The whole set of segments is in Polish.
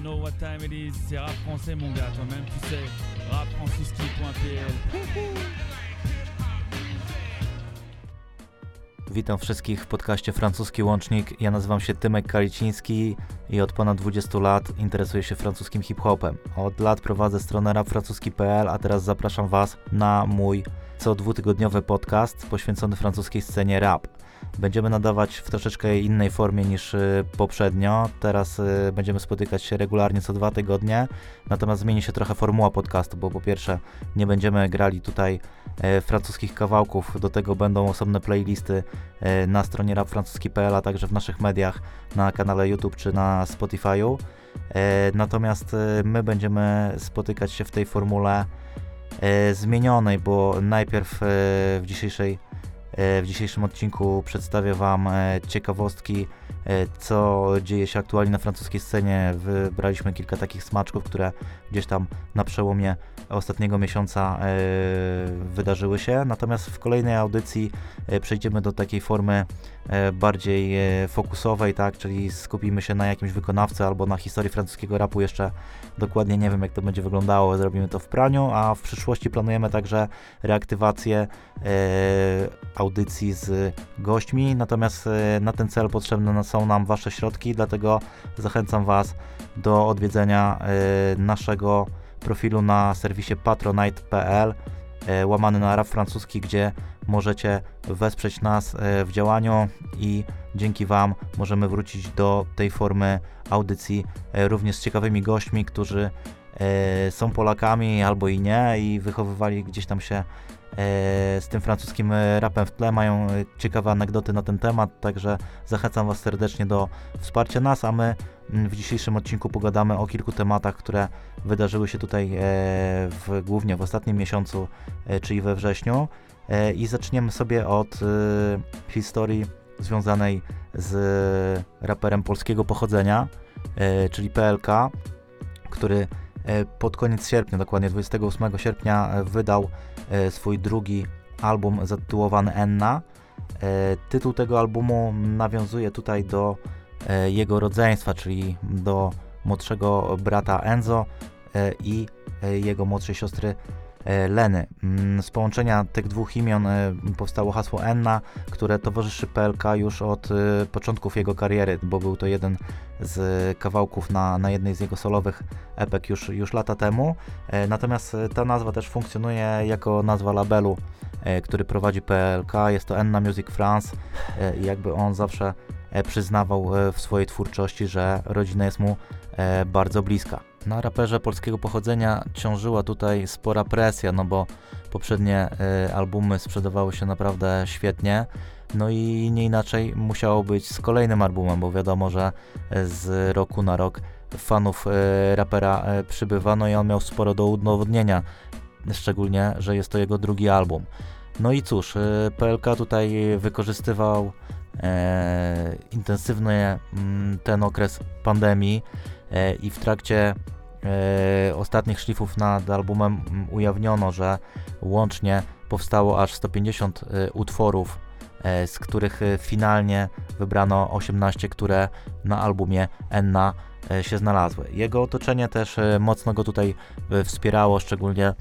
know what time it is, c'est rap français mon gars, toi-même tu sais, rapfrancuski.pl. Witam wszystkich w podcaście Francuski Łącznik. Ja nazywam się Tymek Kaliciński i od ponad 20 lat interesuję się francuskim hip-hopem. Od lat prowadzę stronę rapfrancuski.pl, a teraz zapraszam Was na mój co dwutygodniowy podcast poświęcony francuskiej scenie rap. Będziemy nadawać w troszeczkę innej formie niż poprzednio. Teraz będziemy spotykać się regularnie co 2 tygodnie, natomiast zmieni się trochę formuła podcastu, bo po pierwsze nie będziemy grali tutaj francuskich kawałków, do tego będą osobne playlisty na stronie rapfrancuski.pl, a także w naszych mediach, na kanale YouTube czy na Spotify'u. Natomiast my będziemy spotykać się w tej formule zmienionej, bo najpierw w dzisiejszym odcinku przedstawię Wam ciekawostki, co dzieje się aktualnie na francuskiej scenie. Wybraliśmy kilka takich smaczków, które gdzieś tam na przełomie ostatniego miesiąca wydarzyły się. Natomiast w kolejnej audycji przejdziemy do takiej formy bardziej fokusowej, tak, czyli skupimy się na jakimś wykonawcy albo na historii francuskiego rapu. Jeszcze dokładnie nie wiem, jak to będzie wyglądało, zrobimy to w praniu, a w przyszłości planujemy także reaktywację audycji z gośćmi, natomiast na ten cel potrzebne są nam Wasze środki, dlatego zachęcam Was do odwiedzenia naszego profilu na serwisie patronite.pl łamany na rap francuski, gdzie możecie wesprzeć nas w działaniu i dzięki Wam możemy wrócić do tej formy audycji również z ciekawymi gośćmi, którzy są Polakami albo i nie i wychowywali gdzieś tam się z tym francuskim rapem w tle, mają ciekawe anegdoty na ten temat, także zachęcam Was serdecznie do wsparcia nas, a my w dzisiejszym odcinku pogadamy o kilku tematach, które wydarzyły się tutaj głównie w ostatnim miesiącu, czyli we wrześniu, i zaczniemy sobie od historii związanej z raperem polskiego pochodzenia, czyli PLK, który pod koniec sierpnia, dokładnie 28 sierpnia wydał swój drugi album zatytułowany Enna. Tytuł tego albumu nawiązuje tutaj do jego rodzeństwa, czyli do młodszego brata Enzo i jego młodszej siostry Leny. Z połączenia tych dwóch imion powstało hasło Enna, które towarzyszy PLK już od początków jego kariery, bo był to jeden z kawałków na jednej z jego solowych epek już lata temu. Natomiast ta nazwa też funkcjonuje jako nazwa labelu, który prowadzi PLK. Jest to Enna Music France i jakby on zawsze przyznawał w swojej twórczości, że rodzina jest mu bardzo bliska. Na raperze polskiego pochodzenia ciążyła tutaj spora presja, no bo poprzednie albumy sprzedawały się naprawdę świetnie, no i nie inaczej musiało być z kolejnym albumem, bo wiadomo, że z roku na rok fanów rapera przybywa, no i on miał sporo do udowodnienia, szczególnie, że jest to jego drugi album. No i cóż, PLK tutaj wykorzystywał intensywnie ten okres pandemii i w trakcie ostatnich szlifów nad albumem ujawniono, że łącznie powstało aż 150 utworów, z których finalnie wybrano 18, które na albumie Enna się znalazły. Jego otoczenie też mocno go tutaj wspierało, szczególnie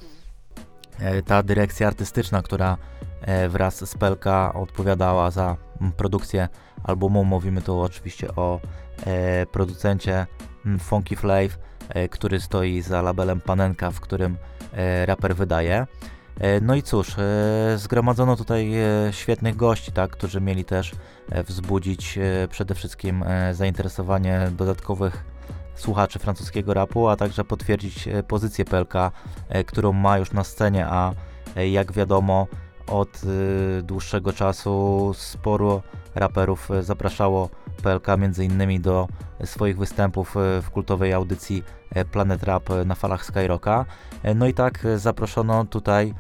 ta dyrekcja artystyczna, która wraz z PLK odpowiadała za produkcję albumu. Mówimy tu oczywiście o producencie Funky Flav, który stoi za labelem Panenka, w którym raper wydaje. No i cóż, zgromadzono tutaj świetnych gości, tak, którzy mieli też wzbudzić przede wszystkim zainteresowanie dodatkowych słuchaczy francuskiego rapu, a także potwierdzić pozycję PLK, którą ma już na scenie, a jak wiadomo od dłuższego czasu sporo raperów zapraszało PLK m.in. do swoich występów w kultowej audycji Planet Rap na falach Skyrocka. No i tak zaproszono tutaj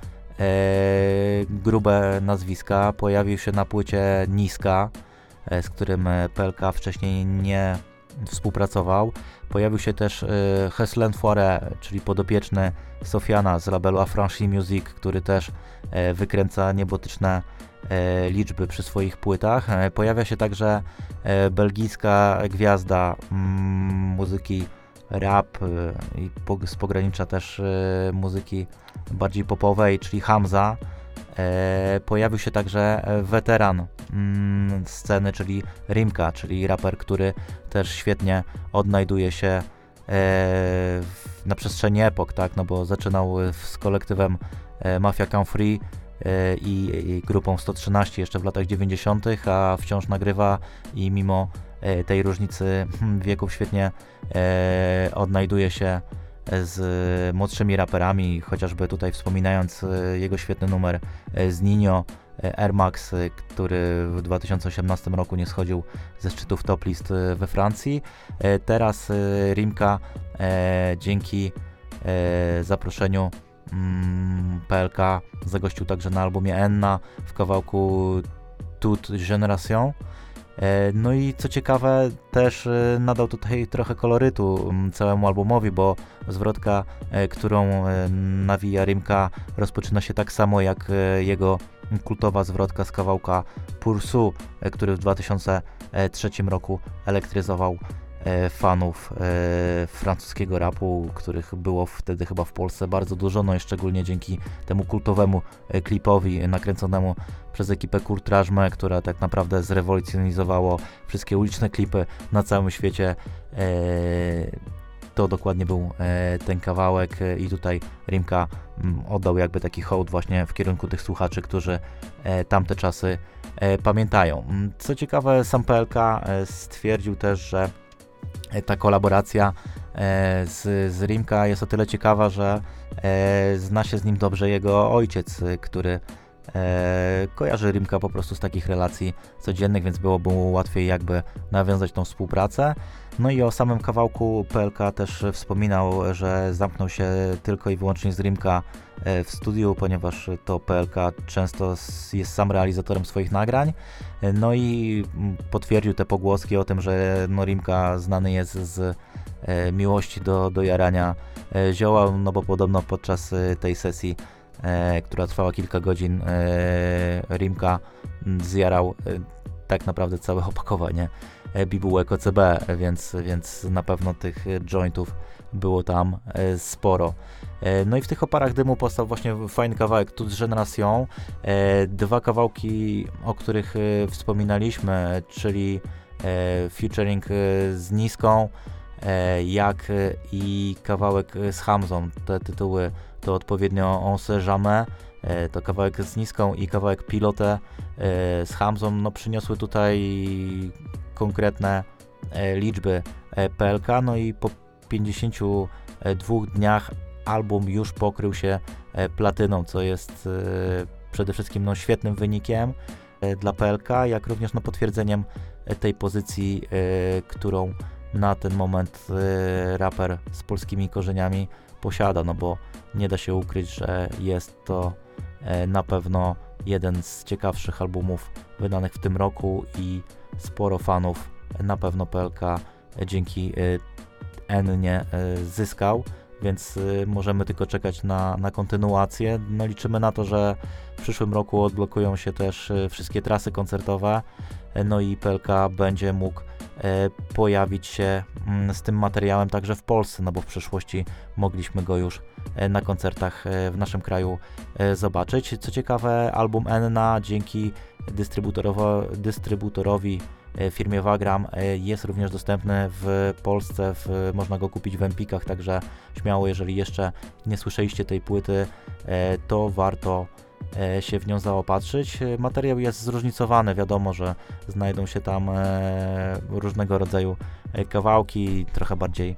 grube nazwiska. Pojawił się na płycie Niska, z którym PLK wcześniej nie współpracował. Pojawił się też Heslen Foire, czyli podopieczny Sofiana z labelu Affranchi Music, który też wykręca niebotyczne liczby przy swoich płytach. Pojawia się także belgijska gwiazda muzyki rap i z pogranicza też muzyki bardziej popowej, czyli Hamza. Pojawił się także weteran sceny, czyli Rimka, czyli raper, który też świetnie odnajduje się na przestrzeni epok, tak, no bo zaczynał z kolektywem Mafia Come Free i grupą 113 jeszcze w latach 90., a wciąż nagrywa i mimo tej różnicy wieków świetnie odnajduje się z młodszymi raperami, chociażby tutaj wspominając jego świetny numer z Ninho, Air Max, który w 2018 roku nie schodził ze szczytów top list we Francji. Teraz Rimka dzięki zaproszeniu PLK zagościł także na albumie Enna w kawałku Toute Génération. No i co ciekawe, też nadał tutaj trochę kolorytu całemu albumowi, bo zwrotka, którą nawija Rimka, rozpoczyna się tak samo jak jego kultowa zwrotka z kawałka Pursu, który w 2003 roku elektryzował fanów francuskiego rapu, których było wtedy chyba w Polsce bardzo dużo, no i szczególnie dzięki temu kultowemu klipowi nakręconemu przez ekipę Courtrage, która tak naprawdę zrewolucjonizowało wszystkie uliczne klipy na całym świecie. To dokładnie był ten kawałek i tutaj Rimka oddał jakby taki hołd właśnie w kierunku tych słuchaczy, którzy tamte czasy pamiętają. Co ciekawe, sam PLK stwierdził też, że ta kolaboracja z Rimka jest o tyle ciekawa, że zna się z nim dobrze jego ojciec, który kojarzy Rimka po prostu z takich relacji codziennych, więc byłoby mu łatwiej jakby nawiązać tą współpracę. No i o samym kawałku PLK też wspominał, że zamknął się tylko i wyłącznie z Rimka w studiu, ponieważ to PLK często jest sam realizatorem swoich nagrań. No i potwierdził te pogłoski o tym, że no Rimka znany jest z miłości do jarania zioła, no bo podobno podczas tej sesji, która trwała kilka godzin, Rimka zjarał tak naprawdę całe opakowanie bibułek OCB, więc na pewno tych jointów było tam sporo. No i w tych oparach dymu powstał właśnie fajny kawałek Toute Génération. Dwa kawałki, o których wspominaliśmy, czyli featuring z Niską, jak i kawałek z Hamzą. Te tytuły to odpowiednio On sait jamais, to kawałek z Niską i kawałek Pilote z Hamzą, no przyniosły tutaj konkretne liczby PLK, no i po 52 dniach album już pokrył się platyną, co jest przede wszystkim no, świetnym wynikiem dla PLK, jak również no, potwierdzeniem tej pozycji, którą na ten moment raper z polskimi korzeniami posiada, no bo nie da się ukryć, że jest to na pewno jeden z ciekawszych albumów wydanych w tym roku i sporo fanów na pewno PLK dzięki Ennie zyskał, więc możemy tylko czekać na kontynuację. No liczymy na to, że w przyszłym roku odblokują się też wszystkie trasy koncertowe, no i PLK będzie mógł pojawić się z tym materiałem także w Polsce, no bo w przyszłości mogliśmy go już na koncertach w naszym kraju zobaczyć. Co ciekawe, album Enna dzięki dystrybutorowi firmie Wagram jest również dostępny w Polsce, można go kupić w Empikach, także śmiało, jeżeli jeszcze nie słyszeliście tej płyty, to warto się w nią zaopatrzyć. Materiał jest zróżnicowany, wiadomo, że znajdą się tam różnego rodzaju kawałki, trochę bardziej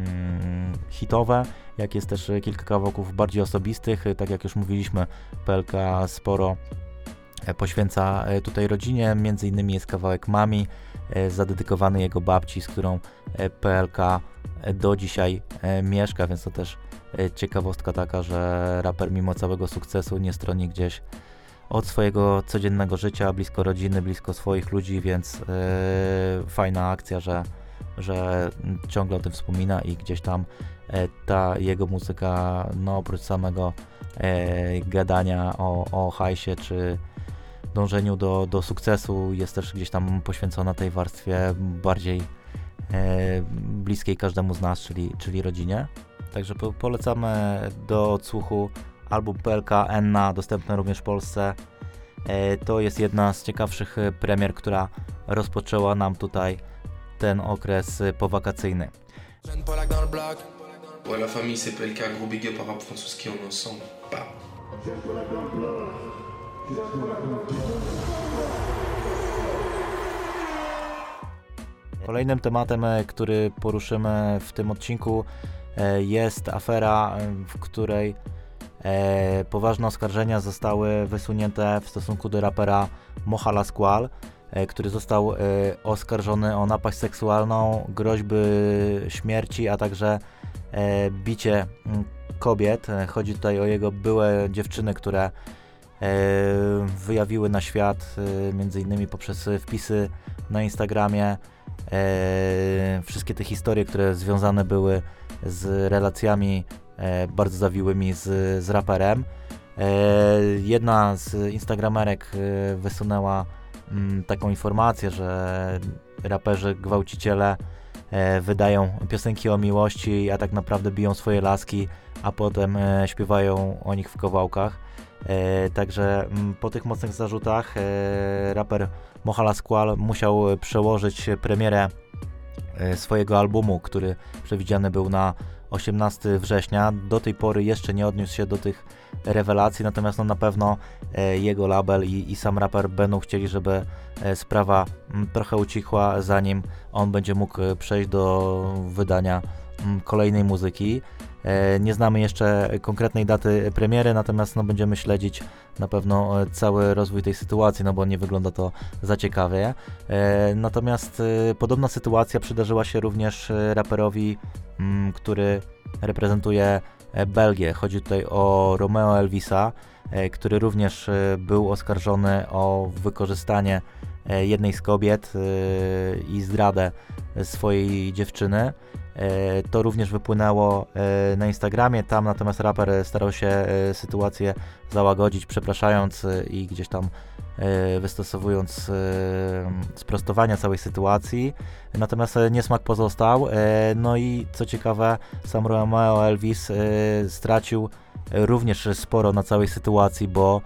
hitowe, jak jest też kilka kawałków bardziej osobistych, tak jak już mówiliśmy, PLK sporo poświęca tutaj rodzinie, między innymi jest kawałek Mami, zadedykowany jego babci, z którą PLK do dzisiaj mieszka, więc to też ciekawostka taka, że raper mimo całego sukcesu nie stroni gdzieś od swojego codziennego życia, blisko rodziny, blisko swoich ludzi, więc fajna akcja, że ciągle o tym wspomina i gdzieś tam ta jego muzyka, no oprócz samego gadania o hajsie czy dążeniu do sukcesu, jest też gdzieś tam poświęcona tej warstwie bardziej bliskiej każdemu z nas, czyli rodzinie. Także polecamy do odsłuchu album PLK Enna, dostępny również w Polsce. To jest jedna z ciekawszych premier, która rozpoczęła nam tutaj ten okres powakacyjny. Ouais, la famille c'est PLK, gros big up à rap francuski, on est ensemble. Bah. Kolejnym tematem, który poruszymy w tym odcinku, jest afera, w której poważne oskarżenia zostały wysunięte w stosunku do rapera Mocha Lasquale, który został oskarżony o napaść seksualną, groźby śmierci, a także bicie kobiet. Chodzi tutaj o jego byłe dziewczyny, które wyjawiły na świat m.in. poprzez wpisy na Instagramie wszystkie te historie, które związane były z relacjami bardzo zawiłymi z raperem. Jedna z instagramerek wysunęła taką informację, że raperzy gwałciciele wydają piosenki o miłości, a tak naprawdę biją swoje laski, a potem śpiewają o nich w kawałkach. Także po tych mocnych zarzutach raper Mocha Lasquale musiał przełożyć premierę swojego albumu, który przewidziany był na 18 września. Do tej pory jeszcze nie odniósł się do tych rewelacji, natomiast na pewno jego label i sam raper będą chcieli, żeby sprawa trochę ucichła, zanim on będzie mógł przejść do wydania kolejnej muzyki. Nie znamy jeszcze konkretnej daty premiery, natomiast będziemy śledzić na pewno cały rozwój tej sytuacji, bo nie wygląda to za ciekawie. Natomiast podobna sytuacja przydarzyła się również raperowi, który reprezentuje Belgię. Chodzi tutaj o Romeo Elvisa, który również był oskarżony o wykorzystanie jednej z kobiet i zdradę swojej dziewczyny. To również wypłynęło na Instagramie, tam natomiast raper starał się sytuację załagodzić, przepraszając i gdzieś tam wystosowując sprostowania całej sytuacji, natomiast niesmak pozostał. No i co ciekawe, sam Romeo Elvis stracił również sporo na całej sytuacji, bo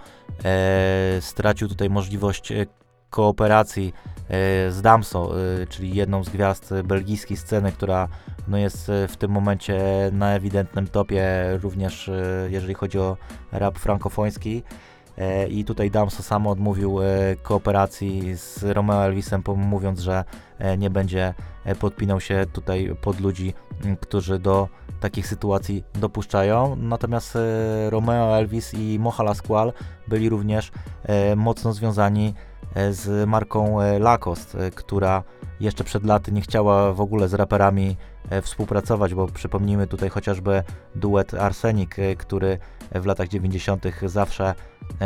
stracił tutaj możliwość kooperacji z Damso, czyli jedną z gwiazd belgijskiej sceny, która jest w tym momencie na ewidentnym topie, również jeżeli chodzi o rap frankofoński. I tutaj Damso sam odmówił kooperacji z Romeo Elvisem, mówiąc, że nie będzie podpinał się tutaj pod ludzi, którzy do takich sytuacji dopuszczają. Natomiast Romeo Elvis i Mocha Lasquale byli również mocno związani z marką Lacoste, która jeszcze przed laty nie chciała w ogóle z raperami współpracować, bo przypomnijmy tutaj chociażby duet Arsenik, który w latach 90. zawsze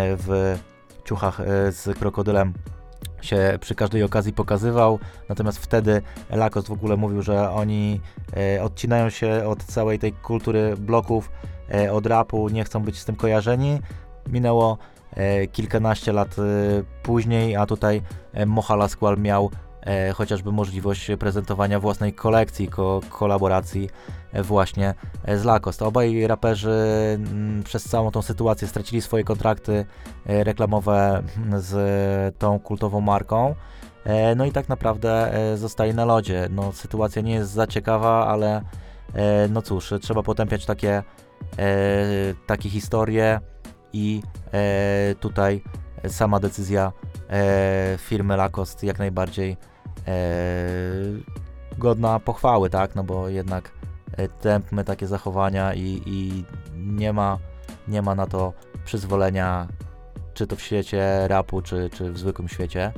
w ciuchach z krokodylem się przy każdej okazji pokazywał, natomiast wtedy Lacoste w ogóle mówił, że oni odcinają się od całej tej kultury bloków, od rapu, nie chcą być z tym kojarzeni. Minęło kilkanaście lat później, a tutaj Mocha Lasquale miał chociażby możliwość prezentowania własnej kolekcji, kolaboracji właśnie z Lacoste. Obaj raperzy przez całą tą sytuację stracili swoje kontrakty reklamowe z tą kultową marką. No i tak naprawdę zostali na lodzie. No, sytuacja nie jest za ciekawa, ale no cóż, trzeba potępiać takie historie i tutaj sama decyzja firmy Lacoste jak najbardziej godna pochwały, tak, no bo jednak tępmy takie zachowania i nie ma na to przyzwolenia, czy to w świecie rapu, czy w zwykłym świecie.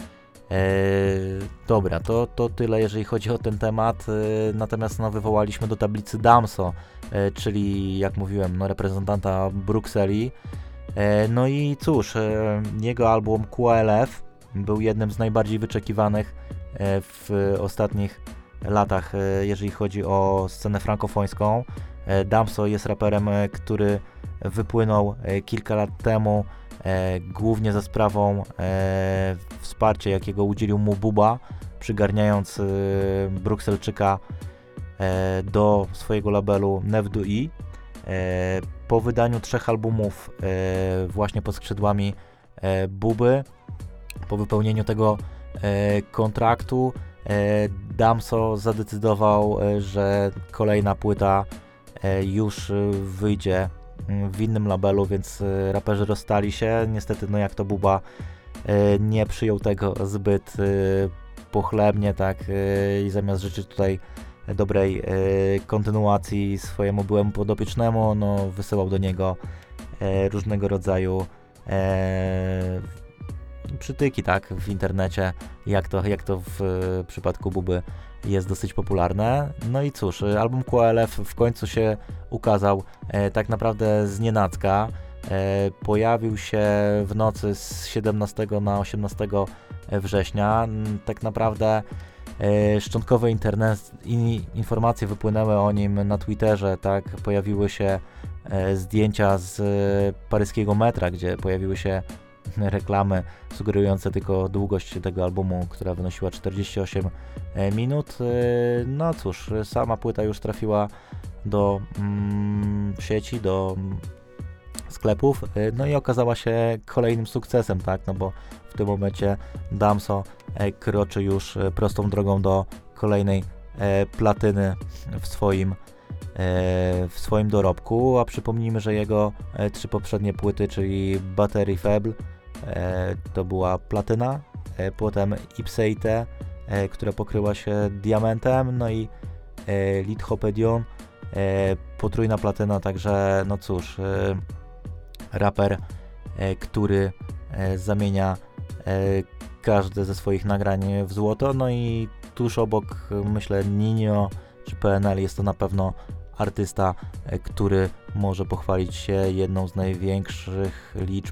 Dobra, to tyle jeżeli chodzi o ten temat, natomiast wywołaliśmy do tablicy Damso, czyli jak mówiłem, reprezentanta Brukseli. No i cóż, jego album QLF był jednym z najbardziej wyczekiwanych w ostatnich latach, jeżeli chodzi o scenę frankofońską. Damso jest raperem, który wypłynął kilka lat temu, głównie za sprawą wsparcia, jakiego udzielił mu Booba, przygarniając Brukselczyka do swojego labelu Neuf de I. Po wydaniu 3 albumów właśnie pod skrzydłami Booby, po wypełnieniu tego kontraktu, Damso zadecydował, że kolejna płyta już wyjdzie w innym labelu, więc raperzy rozstali się. Niestety, no jak to Booba nie przyjął tego zbyt pochlebnie, tak, i zamiast życzyć tutaj dobrej kontynuacji swojemu byłemu podopiecznemu, no wysyłał do niego różnego rodzaju przytyki, tak, w internecie, jak to w przypadku Booby jest dosyć popularne. No i cóż, album QLF w końcu się ukazał tak naprawdę znienacka. Pojawił się w nocy z 17 na 18 września. Tak naprawdę szczątkowe informacje wypłynęły o nim na Twitterze, tak, pojawiły się zdjęcia z paryskiego metra, gdzie pojawiły się reklamy sugerujące tylko długość tego albumu, która wynosiła 48 minut. No cóż, sama płyta już trafiła do sieci, do sklepów, no i okazała się kolejnym sukcesem, tak, no bo w tym momencie Damso kroczy już prostą drogą do kolejnej platyny w swoim dorobku, a przypomnijmy, że jego 3 poprzednie płyty, czyli Battery Faible, to była platyna, potem Ipseite, która pokryła się diamentem, no i Lithopedion, potrójna platyna, także no cóż, raper, który zamienia każde ze swoich nagrań w złoto, no i tuż obok, myślę, Ninio czy PNL jest to na pewno artysta, który może pochwalić się jedną z największych liczb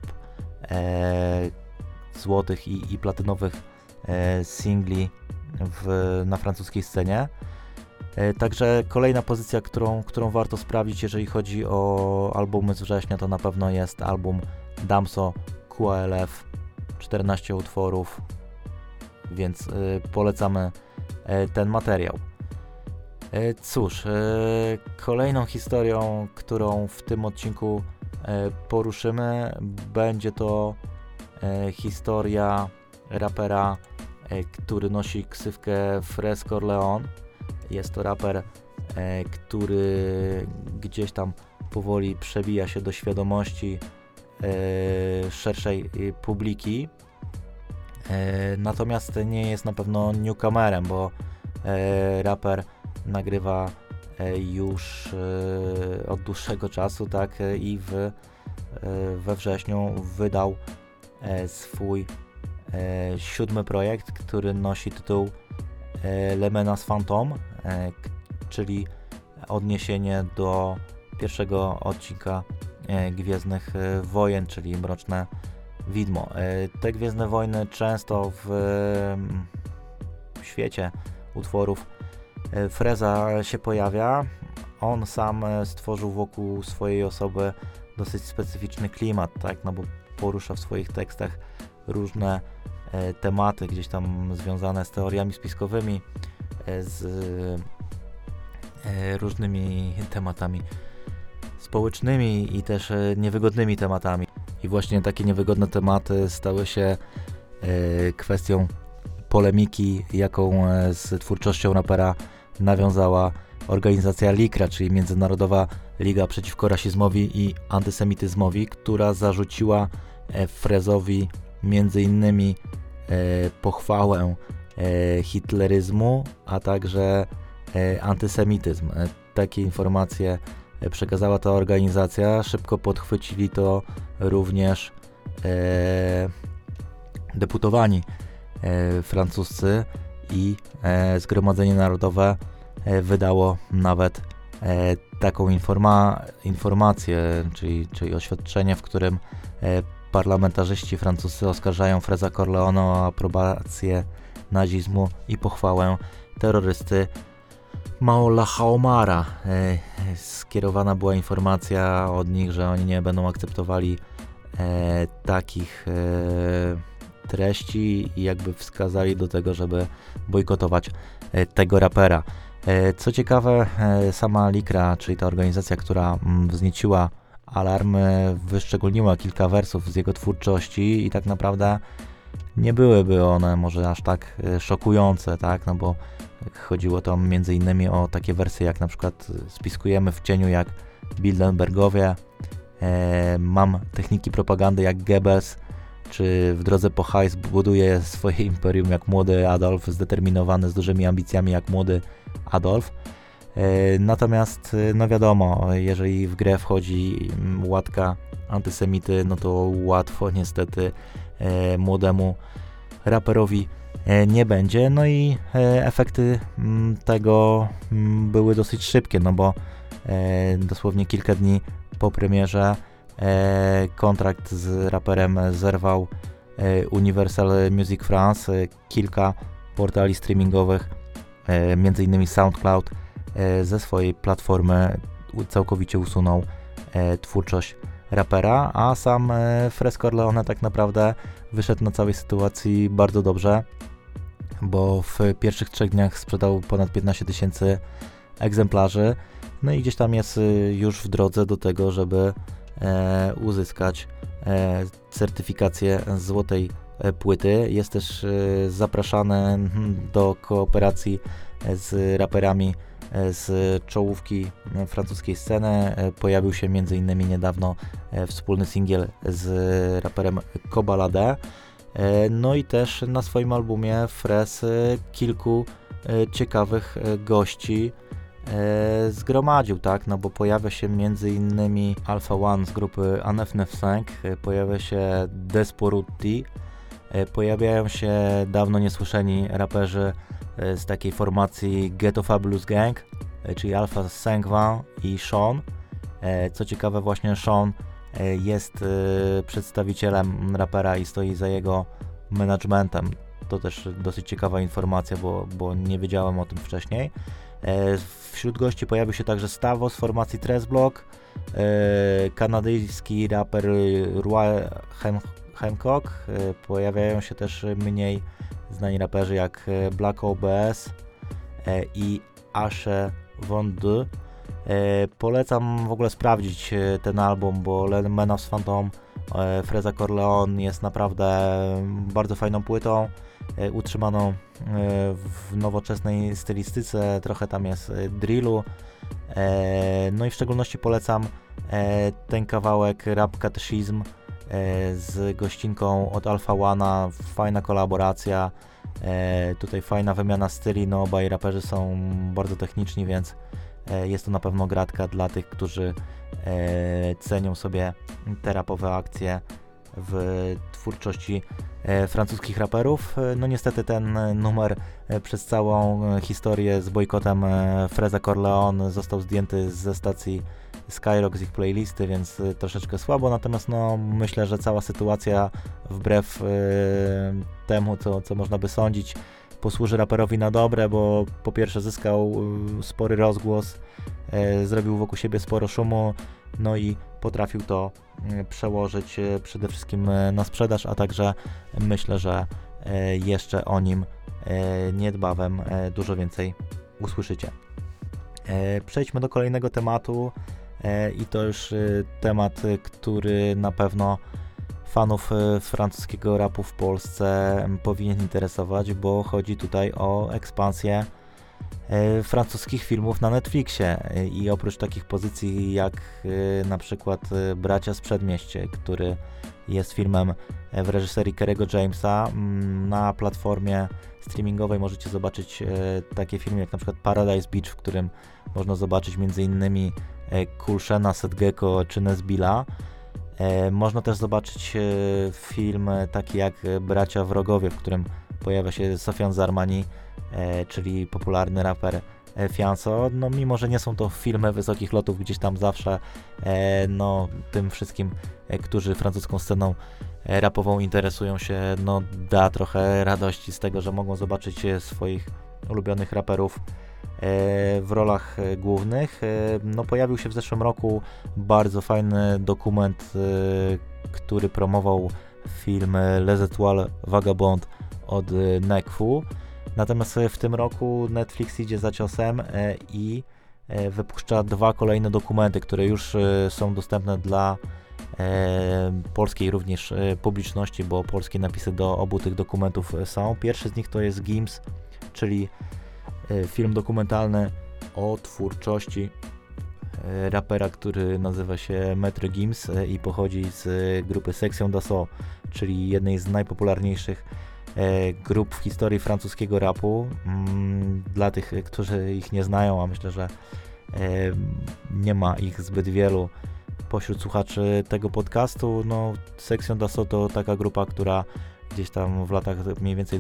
złotych i platynowych singli na francuskiej scenie. Także kolejna pozycja, którą warto sprawdzić, jeżeli chodzi o albumy z września, to na pewno jest album Damso QLF, 14 utworów, więc polecamy ten materiał. Cóż, kolejną historią, którą w tym odcinku poruszymy, będzie to historia rapera, który nosi ksywkę Fresh Corleone. Jest to raper, który gdzieś tam powoli przebija się do świadomości szerszej publiki. Natomiast nie jest na pewno newcomerem, bo raper nagrywa już od dłuższego czasu, tak, i we wrześniu wydał swój 7. projekt, który nosi tytuł Le Menace Fantôme, czyli odniesienie do pierwszego odcinka Gwiezdnych Wojen, czyli Mroczne Widmo. Te Gwiezdne Wojny często w świecie utworów Freza się pojawia. On sam stworzył wokół swojej osoby dosyć specyficzny klimat, tak, no bo porusza w swoich tekstach różne tematy gdzieś tam związane z teoriami spiskowymi, z różnymi tematami społecznymi i też niewygodnymi tematami. I właśnie takie niewygodne tematy stały się kwestią polemiki, jaką z twórczością rapera nawiązała organizacja LICRA, czyli Międzynarodowa Liga Przeciwko Rasizmowi i Antysemityzmowi, która zarzuciła Frezowi między innymi pochwałę hitleryzmu, a także antysemityzm. Takie informacje przekazała ta organizacja. Szybko podchwycili to również deputowani francuscy i Zgromadzenie Narodowe wydało nawet taką informację, czyli oświadczenie, w którym parlamentarzyści francuscy oskarżają Freza Corleone o aprobację nazizmu i pochwałę terrorysty Maola Haomara. Skierowana była informacja od nich, że oni nie będą akceptowali takich treści i jakby wskazali do tego, żeby bojkotować tego rapera. Co ciekawe, sama Likra, czyli ta organizacja, która wznieciła alarm, wyszczególniła kilka wersów z jego twórczości i tak naprawdę nie byłyby one może aż tak szokujące, tak, no bo chodziło tam między innymi o takie wersy jak na przykład spiskujemy w cieniu jak Bilderbergowie, mam techniki propagandy jak Goebbels, czy w drodze po hajs buduje swoje imperium jak młody Adolf, zdeterminowany, z dużymi ambicjami jak młody Adolf. Natomiast no wiadomo, jeżeli w grę wchodzi łatka antysemity, no to łatwo niestety młodemu raperowi nie będzie. No i efekty tego były dosyć szybkie, no bo dosłownie kilka dni po premierze kontrakt z raperem zerwał Universal Music France. Kilka portali streamingowych, między innymi SoundCloud, ze swojej platformy całkowicie usunął twórczość rapera, a sam Fresh Corleone tak naprawdę wyszedł na całej sytuacji bardzo dobrze, bo w pierwszych 3 dniach sprzedał ponad 15 000 egzemplarzy, no i gdzieś tam jest już w drodze do tego, żeby uzyskać certyfikację złotej płyty. Jest też zapraszany do kooperacji z raperami z czołówki francuskiej sceny. Pojawił się m.in. niedawno wspólny singiel z raperem Kobalade. No i też na swoim albumie Fresh kilku ciekawych gości zgromadził, tak, no bo pojawia się m.in. Alpha One z grupy Anef95, pojawia się Desporuti, pojawiają się dawno niesłyszeni raperzy z takiej formacji Ghetto Fabulous Gang, czyli Alpha Sengwan i Sean. Co ciekawe, właśnie Sean jest przedstawicielem rapera i stoi za jego managementem. To też dosyć ciekawa informacja, bo nie wiedziałem o tym wcześniej. Wśród gości pojawił się także Stavo z formacji Tresblock, kanadyjski raper Roy Hancock, pojawiają się też mniej znani raperzy jak Black OBS i Ashe Von D. Polecam w ogóle sprawdzić ten album, bo Man of Phantom Freza Corleone jest naprawdę bardzo fajną płytą, utrzymaną w nowoczesnej stylistyce, trochę tam jest drillu, no i w szczególności polecam ten kawałek Rap Catechism z gościnką od Alpha One'a, fajna kolaboracja, tutaj fajna wymiana styli, no obaj raperzy są bardzo techniczni, więc jest to na pewno gratka dla tych, którzy cenią sobie te rapowe akcje w twórczości francuskich raperów. No niestety ten numer przez całą historię z bojkotem Freza Corleone został zdjęty ze stacji Skyrock z ich playlisty, więc troszeczkę słabo, natomiast no myślę, że cała sytuacja wbrew temu, co można by sądzić, posłuży raperowi na dobre, bo po pierwsze zyskał spory rozgłos, zrobił wokół siebie sporo szumu, no i potrafił to przełożyć przede wszystkim na sprzedaż, a także myślę, że jeszcze o nim niedbawem dużo więcej usłyszycie. Przejdźmy do kolejnego tematu i to już temat, który na pewno fanów francuskiego rapu w Polsce powinien interesować, bo chodzi tutaj o ekspansję francuskich filmów na Netflixie i oprócz takich pozycji jak na przykład Bracia z Przedmieście, który jest filmem w reżyserii Kerry'ego Jamesa, na platformie streamingowej możecie zobaczyć takie filmy jak na przykład Paradise Beach, w którym można zobaczyć m.in. Kulshena, Sedgeko czy Nesbilla. Można też zobaczyć film taki jak Bracia Wrogowie, w którym pojawia się Sofian Zarmani, czyli popularny raper Fianso. No mimo, że nie są to filmy wysokich lotów, gdzieś tam zawsze no tym wszystkim, którzy francuską sceną rapową interesują się, no da trochę radości z tego, że mogą zobaczyć swoich ulubionych raperów w rolach głównych. No, pojawił się w zeszłym roku bardzo fajny dokument, który promował film Les Étoiles Vagabondes od Nekfu. Natomiast w tym roku Netflix idzie za ciosem i wypuszcza 2 kolejne dokumenty, które już są dostępne dla polskiej również publiczności, bo polskie napisy do obu tych dokumentów są. Pierwszy z nich to jest Gims, czyli film dokumentalny o twórczości rapera, który nazywa się Maître Gims i pochodzi z grupy Section d'Assaut, czyli jednej z najpopularniejszych grup w historii francuskiego rapu. Dla tych, którzy ich nie znają, a myślę, że nie ma ich zbyt wielu pośród słuchaczy tego podcastu, no Section d'Assaut to taka grupa, która gdzieś tam w latach mniej więcej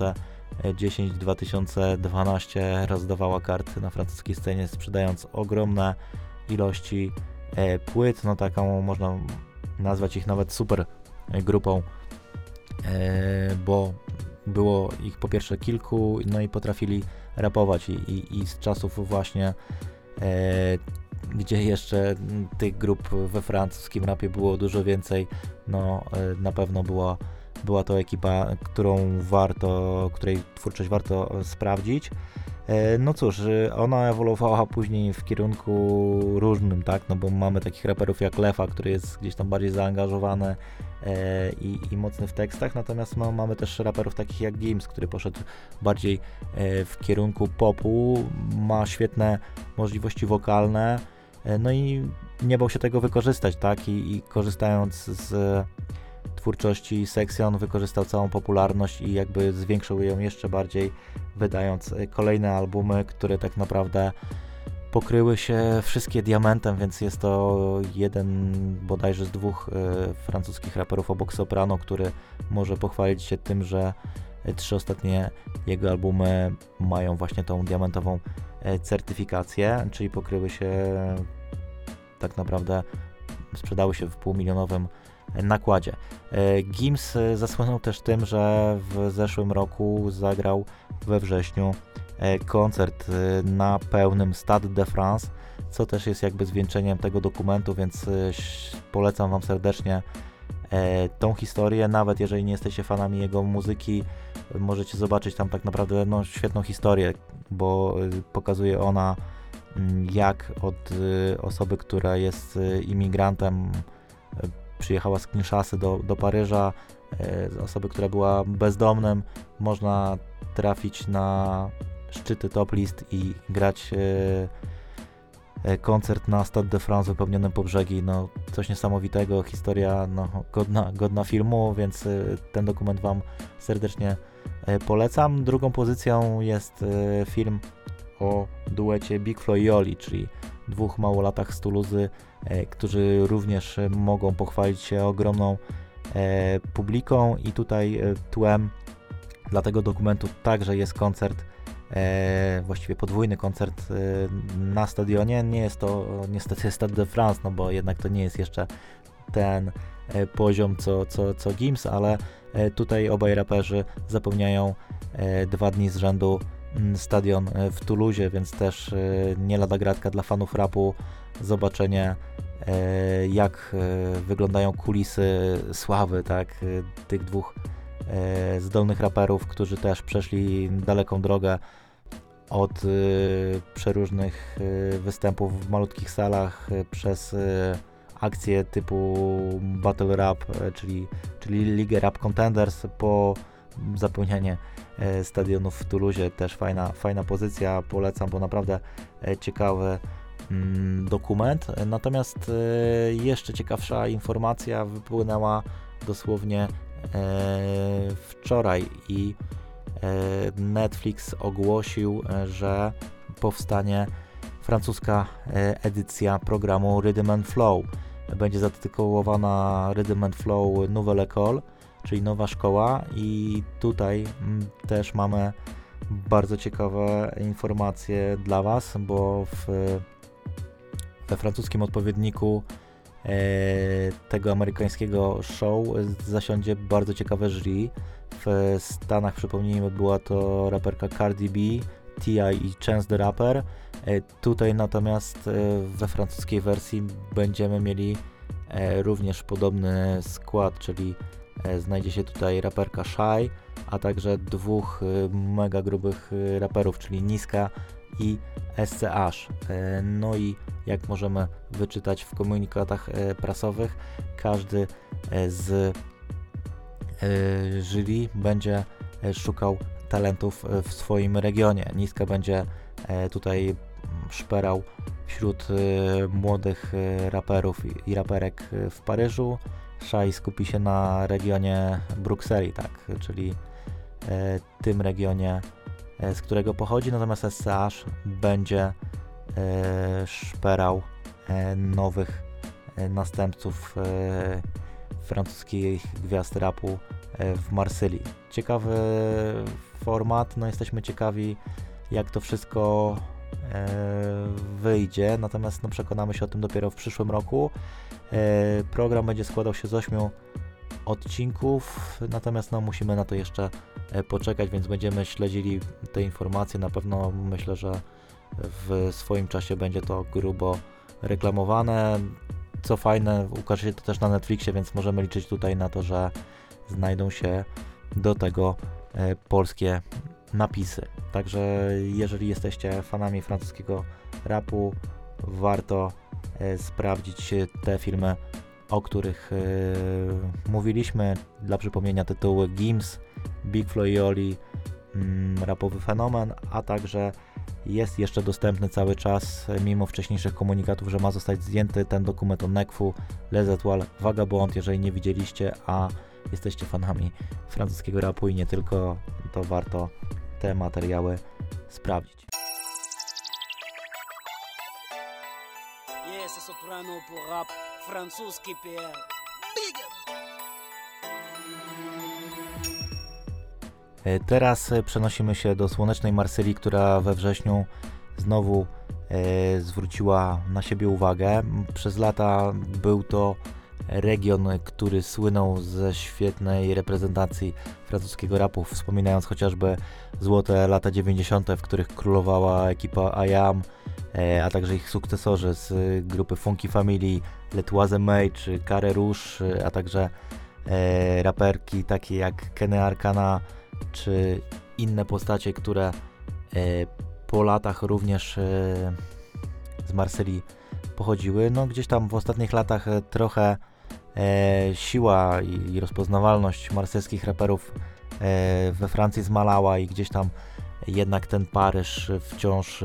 2010-2012 rozdawała karty na francuskiej scenie, sprzedając ogromne ilości płyt, no taką można nazwać ich nawet super grupą, bo było ich po pierwsze kilku, no i potrafili rapować i z czasów właśnie gdzie jeszcze tych grup we francuskim rapie było dużo więcej, no na pewno była to ekipa, której twórczość warto sprawdzić. No cóż, ona ewoluowała później w kierunku różnym, tak, no bo mamy takich raperów jak Lefa, który jest gdzieś tam bardziej zaangażowany i mocny w tekstach, natomiast no, mamy też raperów takich jak Gims, który poszedł bardziej w kierunku popu, ma świetne możliwości wokalne, no i nie bał się tego wykorzystać, tak, i korzystając z twórczości Section wykorzystał całą popularność i jakby zwiększył ją jeszcze bardziej, wydając kolejne albumy, które tak naprawdę pokryły się wszystkie diamentem, więc jest to jeden bodajże z 2 francuskich raperów obok Soprano, który może pochwalić się tym, że 3 ostatnie jego albumy mają właśnie tą diamentową certyfikację, czyli pokryły się tak naprawdę, sprzedały się w półmilionowym nakładzie. Gims zasłynął też tym, że w zeszłym roku zagrał we wrześniu koncert na pełnym Stade de France, co też jest jakby zwieńczeniem tego dokumentu, więc polecam Wam serdecznie tą historię, nawet jeżeli nie jesteście fanami jego muzyki, możecie zobaczyć tam tak naprawdę no, świetną historię, bo pokazuje ona, jak od osoby, która jest imigrantem, przyjechała z Kinshasy do Paryża, osoby, która była bezdomnym, można trafić na szczyty top list i grać koncert na Stade de France wypełnionym po brzegi, no coś niesamowitego, historia no, godna filmu, więc ten dokument Wam serdecznie polecam. Drugą pozycją jest film o duecie Big Flo i Oli, czyli 2 małolatach z Toulouse, którzy również mogą pochwalić się ogromną publiką i tutaj tłem dla tego dokumentu także jest koncert, właściwie podwójny koncert na stadionie. Nie jest to niestety Stade de France, no bo jednak to nie jest jeszcze ten poziom co Gims, ale tutaj obaj raperzy zapełniają 2 dni z rzędu stadion w Toulouse, więc też nie lada gratka dla fanów rapu zobaczenie, jak wyglądają kulisy sławy, tak, tych 2 zdolnych raperów, którzy też przeszli daleką drogę od przeróżnych występów w malutkich salach przez akcje typu Battle Rap, czyli Ligę Rap Contenders, po zapełnianie stadionów w Toulouse. Też fajna pozycja, polecam, bo naprawdę ciekawy dokument. Natomiast jeszcze ciekawsza informacja wypłynęła dosłownie wczoraj i Netflix ogłosił, że powstanie francuska edycja programu Rhythm and Flow. Będzie zatytułowana Rhythm and Flow Nouvelle École, czyli nowa szkoła, i tutaj też mamy bardzo ciekawe informacje dla Was, bo we francuskim odpowiedniku tego amerykańskiego show zasiądzie bardzo ciekawe jury. W Stanach, przypomnijmy, była to raperka Cardi B, T.I. i Chance the Rapper. Tutaj natomiast we francuskiej wersji będziemy mieli również podobny skład, czyli znajdzie się tutaj raperka Shy, a także dwóch mega grubych raperów, czyli Niska i SCH. No i jak możemy wyczytać w komunikatach prasowych, każdy z jury będzie szukał talentów w swoim regionie. Niska będzie tutaj szperał wśród młodych raperów i raperek w Paryżu. Shy skupi się na regionie Brukseli, tak, czyli tym regionie, z którego pochodzi, natomiast SCH będzie szperał nowych następców francuskich gwiazd rapu w Marsylii. Ciekawy format, no jesteśmy ciekawi, jak to wszystko wyjdzie, natomiast no, przekonamy się o tym dopiero w przyszłym roku. Program będzie składał się z 8 odcinków, natomiast no, musimy na to jeszcze poczekać, więc będziemy śledzili te informacje. Na pewno myślę, że w swoim czasie będzie to grubo reklamowane. Co fajne, ukaże się to też na Netflixie, więc możemy liczyć tutaj na to, że znajdą się do tego polskie napisy. Także jeżeli jesteście fanami francuskiego rapu, warto sprawdzić te filmy, o których mówiliśmy. Dla przypomnienia tytuły Gims, Big Flo i Oli, rapowy fenomen, a także jest jeszcze dostępny cały czas, mimo wcześniejszych komunikatów, że ma zostać zdjęty ten dokument o Nekfu, Les Etoiles, Vagabond. Jeżeli nie widzieliście, a jesteście fanami francuskiego rapu i nie tylko, to warto te materiały sprawdzić. Yes, soprano pour rap francuski PL. Teraz przenosimy się do słonecznej Marsylii, która we wrześniu znowu zwróciła na siebie uwagę. Przez lata był to region, który słynął ze świetnej reprezentacji francuskiego rapu, wspominając chociażby złote lata 90., w których królowała ekipa I Am, a także ich sukcesorzy z grupy Funky Family, Le Troisième czy Carré Rouge, a także raperki takie jak Kenny Arcana czy inne postacie, które po latach również z Marsylii pochodziły. No gdzieś tam w ostatnich latach trochę siła i rozpoznawalność marsylskich raperów we Francji zmalała i gdzieś tam jednak ten Paryż wciąż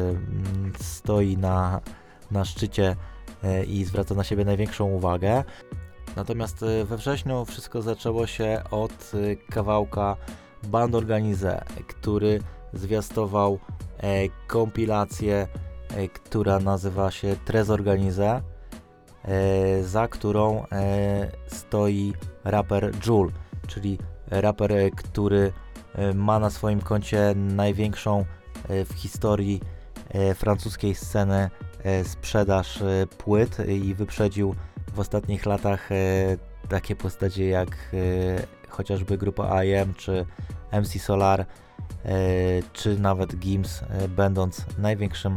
stoi na szczycie i zwraca na siebie największą uwagę. Natomiast we wrześniu wszystko zaczęło się od kawałka Band Organisé, który zwiastował kompilację, która nazywa się Très Organisé, za którą stoi raper Jul, czyli raper, który ma na swoim koncie największą w historii francuskiej sceny sprzedaż płyt i wyprzedził w ostatnich latach takie postacie jak chociażby grupa I.M. czy MC Solar, czy nawet Gims, będąc największym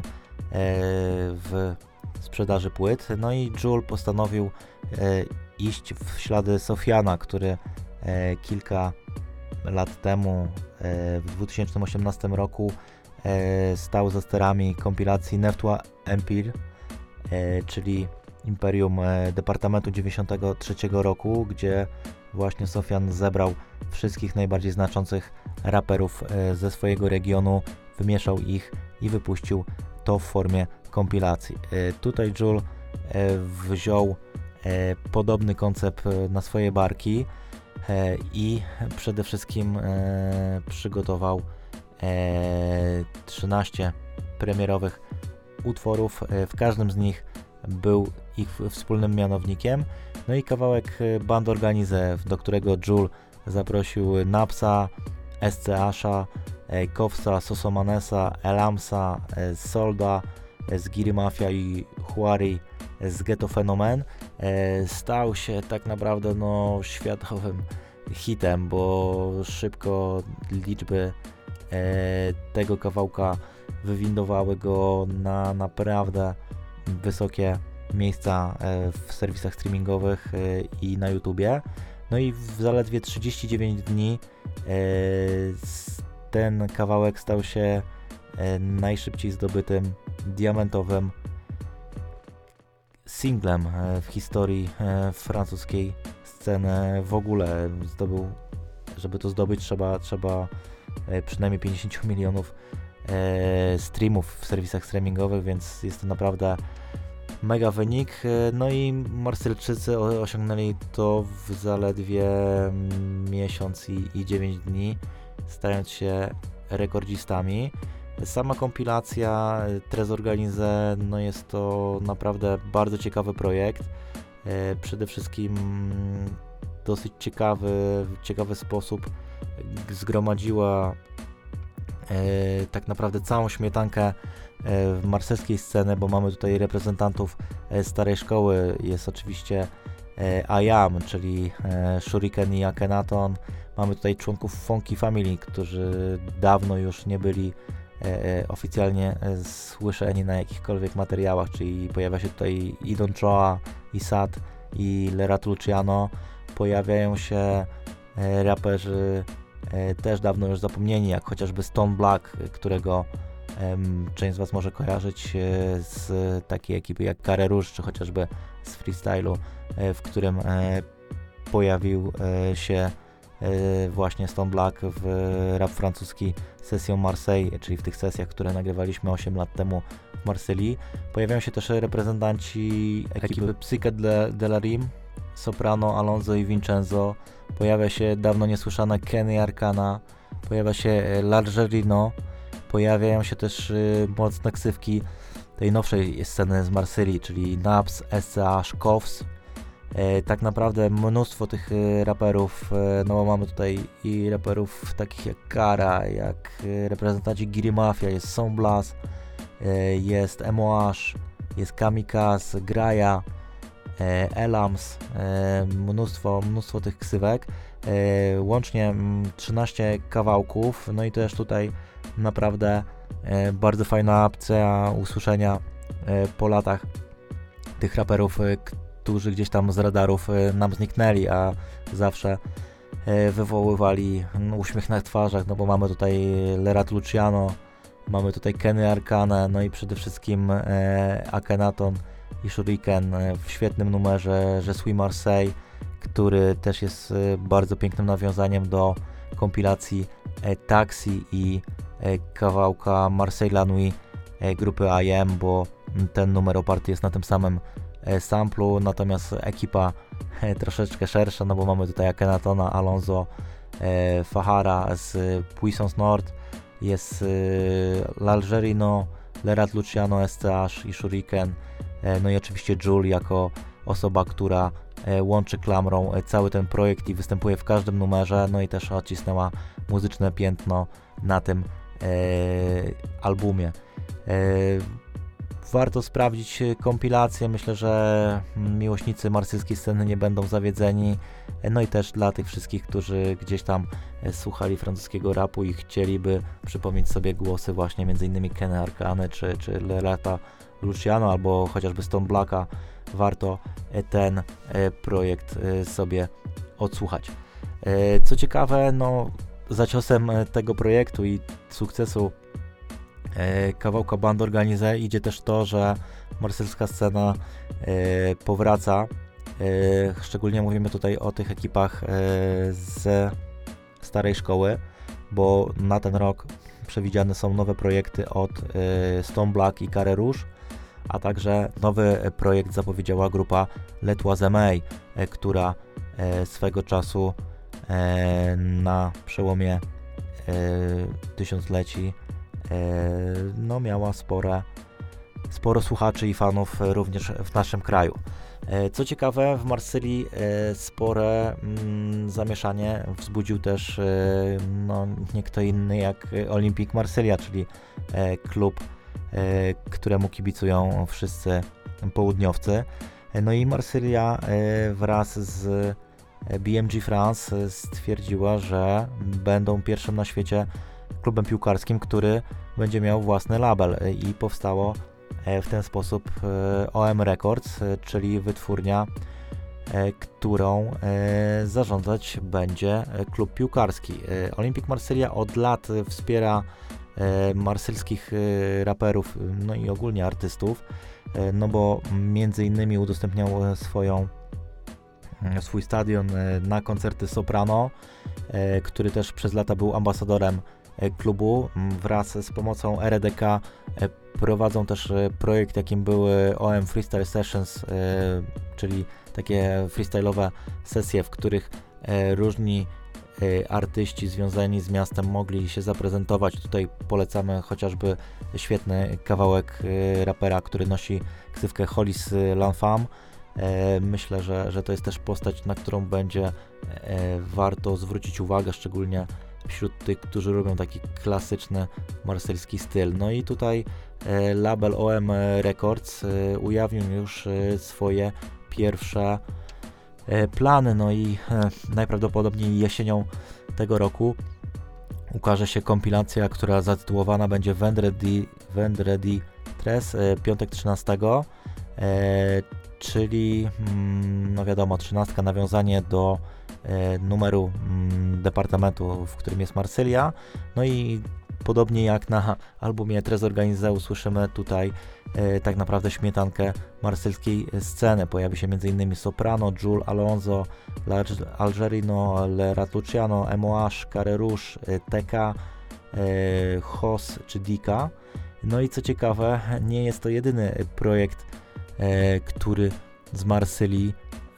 w sprzedaży płyt. No i Jul postanowił iść w ślady Sofiana, który kilka lat temu, w 2018 roku, stał za sterami kompilacji Neuf Empire, czyli Imperium Departamentu 93 roku, gdzie właśnie Sofian zebrał wszystkich najbardziej znaczących raperów ze swojego regionu, wymieszał ich i wypuścił to w formie kompilacji. Tutaj Jul wziął podobny koncept na swoje barki i przede wszystkim przygotował 13 premierowych utworów. W każdym z nich był ich wspólnym mianownikiem. No i kawałek Band Organisé, do którego Jul zaprosił Napsa, SCH-a, Kowsa, Sosomanesa, Elamsa, Solda z Giri Mafia i Huari z Ghetto Fenomen. Stał się tak naprawdę światowym hitem, bo szybko liczby tego kawałka wywindowały go na naprawdę wysokie miejsca w serwisach streamingowych i na YouTubie. No i w zaledwie 39 dni ten kawałek stał się najszybciej zdobytym diamentowym singlem w historii francuskiej sceny w ogóle. Żeby to zdobyć, trzeba przynajmniej 50 milionów streamów w serwisach streamingowych, więc jest to naprawdę mega wynik. No i Marsylczycy osiągnęli to w zaledwie miesiąc i 9 dni, stając się rekordzistami. Sama kompilacja Tres Organize, no jest to naprawdę bardzo ciekawy projekt. Przede wszystkim dosyć ciekawy sposób zgromadziła tak naprawdę całą śmietankę marselskiej sceny, bo mamy tutaj reprezentantów starej szkoły. Jest oczywiście IAM, czyli Shuriken i Akhenaton. Mamy tutaj członków Funky Family, którzy dawno już nie byli oficjalnie słyszeni na jakichkolwiek materiałach, czyli pojawia się tutaj i Don Choa, i Sad, i Lerat Luciano. Pojawiają się raperzy też dawno już zapomnieni, jak chociażby Stone Black, którego część z Was może kojarzyć z takiej ekipy jak Carré Rouge, czy chociażby z freestylu, w którym pojawił się właśnie Stone Black w rap francuski Session Marseille, czyli w tych sesjach, które nagrywaliśmy 8 lat temu w Marsylii. Pojawiają się też reprezentanci ekipy Psyche de la Rime, Soprano, Alonso i Vincenzo. Pojawia się dawno niesłyszane Kenny Arcana, pojawia się Largerino, pojawiają się też mocne ksywki tej nowszej sceny z Marsylii, czyli Naps, SCH, Kows. Tak naprawdę mnóstwo tych raperów, no bo mamy tutaj i raperów takich jak Kara, jak reprezentanci Giri Mafia, jest Somblas, jest MOH, jest Kamikaz, Graja, Elams, mnóstwo tych ksywek, łącznie 13 kawałków, no i też tutaj naprawdę bardzo fajna opcja usłyszenia po latach tych raperów, którzy gdzieś tam z radarów nam zniknęli, a zawsze wywoływali uśmiech na twarzach, no bo mamy tutaj Lerat Luciano, mamy tutaj Kenny Arcane, no i przede wszystkim Akhenaton i Shuriken w świetnym numerze Je suis Marseille, który też jest bardzo pięknym nawiązaniem do kompilacji Taxi i kawałka Marseille la Nuit grupy IAM, bo ten numer oparty jest na tym samym samplu, natomiast ekipa troszeczkę szersza, no bo mamy tutaj Akhenatona, Alonso, Fahara z Puissance Nord, jest L'Algerino, Lerat Luciano, SCH i Shuriken, no i oczywiście Jul jako osoba, która łączy klamrą cały ten projekt i występuje w każdym numerze, no i też odcisnęła muzyczne piętno na tym albumie. Warto sprawdzić kompilację, myślę, że miłośnicy marsylskiej sceny nie będą zawiedzeni, no i też dla tych wszystkich, którzy gdzieś tam słuchali francuskiego rapu i chcieliby przypomnieć sobie głosy właśnie m.in. Kenny Arcane czy Lerata Luciano albo chociażby Stone Blacka, warto ten projekt sobie odsłuchać. Co ciekawe, no za ciosem tego projektu i sukcesu kawałka Band Organize idzie też to, że marsylska scena powraca. Szczególnie mówimy tutaj o tych ekipach ze starej szkoły, bo na ten rok przewidziane są nowe projekty od Stone Black i Carré Rouge, a także nowy projekt zapowiedziała grupa Les Trois-Aimés, która swego czasu na przełomie tysiącleci no miała sporo słuchaczy i fanów również w naszym kraju. Co ciekawe, w Marsylii spore zamieszanie wzbudził też no, nie kto inny jak Olympique Marsylia, czyli klub, któremu kibicują wszyscy południowcy. No i Marsylia wraz z BMG France stwierdziła, że będą pierwszym na świecie klubem piłkarskim, który będzie miał własny label i powstało w ten sposób OM Records, czyli wytwórnia, którą zarządzać będzie klub piłkarski. Olympique Marsylia od lat wspiera marsylskich raperów, no i ogólnie artystów, no bo między innymi udostępniał swój stadion na koncerty Soprano, który też przez lata był ambasadorem klubu. Wraz z pomocą RDK prowadzą też projekt, jakim były OM Freestyle Sessions, czyli takie freestyle'owe sesje, w których różni artyści związani z miastem mogli się zaprezentować. Tutaj polecamy chociażby świetny kawałek rapera, który nosi ksywkę Hollis L'Enfant. Myślę, że to jest też postać, na którą będzie warto zwrócić uwagę, szczególnie wśród tych, którzy lubią taki klasyczny marsylski styl. No i tutaj label OM Records ujawnił już swoje pierwsze plany, no i najprawdopodobniej jesienią tego roku ukaże się kompilacja, która zatytułowana będzie Vendredi 3, piątek 13, czyli no wiadomo, 13, nawiązanie do numeru departamentu, w którym jest Marsylia. No i podobnie jak na albumie Tres Organizé usłyszymy tutaj tak naprawdę śmietankę marsylskiej sceny. Pojawi się m.in. Soprano, Jules Alonso, Algerino, Le Ratluciano, MOH, Carré Rouge, TK, Hos czy Dika. No i co ciekawe, nie jest to jedyny projekt, który z Marsylii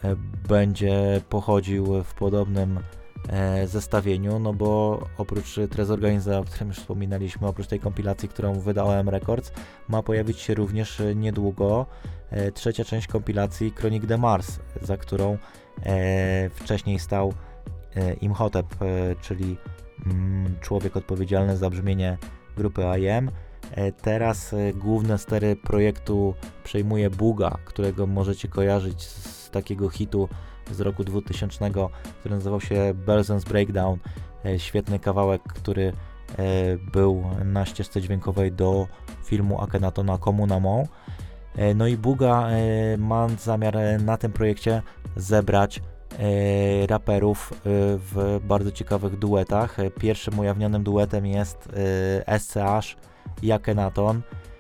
będzie pochodził w podobnym zestawieniu, no bo oprócz Tres Organizé, o którym już wspominaliśmy, oprócz tej kompilacji, którą wydał OM Records, ma pojawić się również niedługo trzecia część kompilacji Chronique de Mars, za którą wcześniej stał Imhotep, czyli człowiek odpowiedzialny za brzmienie grupy IM. Teraz główne stery projektu przejmuje Buga, którego możecie kojarzyć z takiego hitu z roku 2000, który nazywał się Belzen's Breakdown. Świetny kawałek, który był na ścieżce dźwiękowej do filmu Akhenatona Komuna Mon. No i Buga ma zamiar na tym projekcie zebrać raperów w bardzo ciekawych duetach. Pierwszym ujawnionym duetem jest SCH i Akhenaton.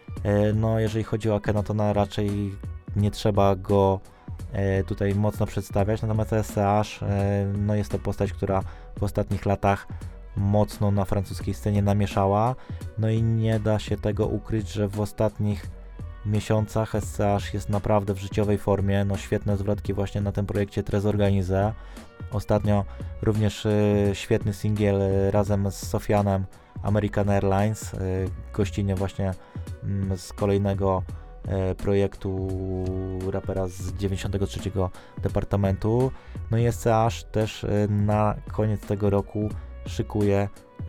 No jeżeli chodzi o Akhenatona, raczej nie trzeba go tutaj mocno przedstawiać, natomiast SCH no jest to postać, która w ostatnich latach mocno na francuskiej scenie namieszała, no i nie da się tego ukryć, że w ostatnich miesiącach SCH jest naprawdę w życiowej formie, no świetne zwrotki właśnie na tym projekcie Tres Organizé. Ostatnio również świetny singiel razem z Sofianem, American Airlines, gościnnie właśnie z kolejnego projektu rapera z 93 departamentu. No i SCH też na koniec tego roku szykuje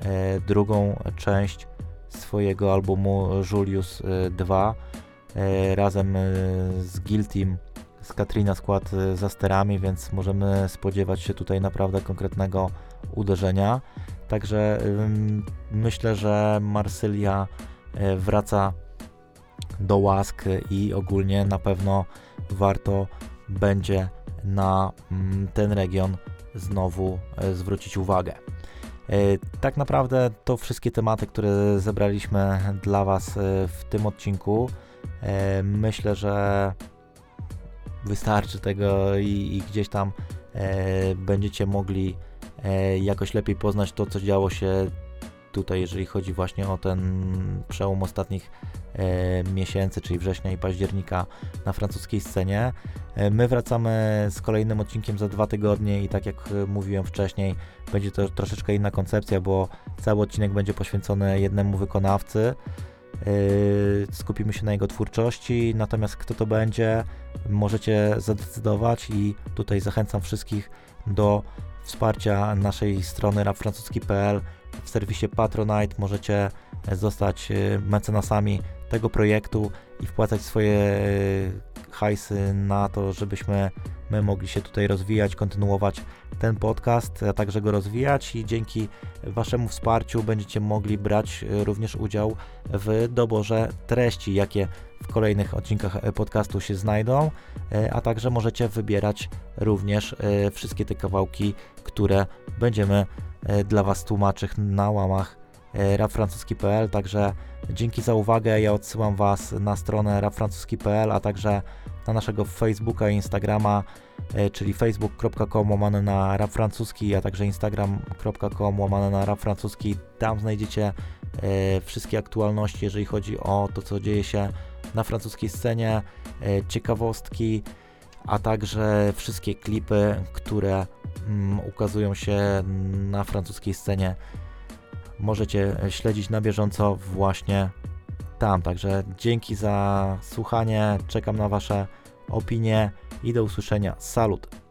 drugą część swojego albumu Julius 2 razem z Guiltym, z Katrina skład za sterami, więc możemy spodziewać się tutaj naprawdę konkretnego uderzenia. Także myślę, że Marsylia wraca do łask i ogólnie na pewno warto będzie na ten region znowu zwrócić uwagę. Tak naprawdę to wszystkie tematy, które zebraliśmy dla Was w tym odcinku. Myślę, że wystarczy tego i gdzieś tam będziecie mogli jakoś lepiej poznać to, co działo się tutaj, jeżeli chodzi właśnie o ten przełom ostatnich miesięcy, czyli września i października na francuskiej scenie. My wracamy z kolejnym odcinkiem za 2 tygodnie i tak jak mówiłem wcześniej, będzie to troszeczkę inna koncepcja, bo cały odcinek będzie poświęcony jednemu wykonawcy. Skupimy się na jego twórczości, natomiast kto to będzie, możecie zadecydować i tutaj zachęcam wszystkich do wsparcia naszej strony rapfrancuski.pl. W serwisie Patronite możecie zostać mecenasami tego projektu i wpłacać swoje hajsy na to, żebyśmy my mogli się tutaj rozwijać, kontynuować ten podcast, a także go rozwijać i dzięki Waszemu wsparciu będziecie mogli brać również udział w doborze treści, jakie w kolejnych odcinkach podcastu się znajdą, a także możecie wybierać również wszystkie te kawałki, które będziemy dla Was tłumaczyć na łamach rapfrancuski.pl. Także dzięki za uwagę, ja odsyłam Was na stronę rapfrancuski.pl, a także na naszego Facebooka i Instagrama, czyli facebook.com/rapfrancuski, a także instagram.com/rapfrancuski. Tam znajdziecie wszystkie aktualności, jeżeli chodzi o to, co dzieje się na francuskiej scenie, ciekawostki, a także wszystkie klipy, które ukazują się na francuskiej scenie. Możecie śledzić na bieżąco właśnie tam. Także dzięki za słuchanie, czekam na Wasze opinie i do usłyszenia. Salut!